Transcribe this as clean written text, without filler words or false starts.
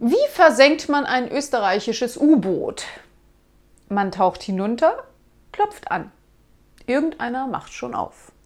Wie versenkt man ein österreichisches U-Boot? Man taucht hinunter, klopft an. Irgendeiner macht schon auf.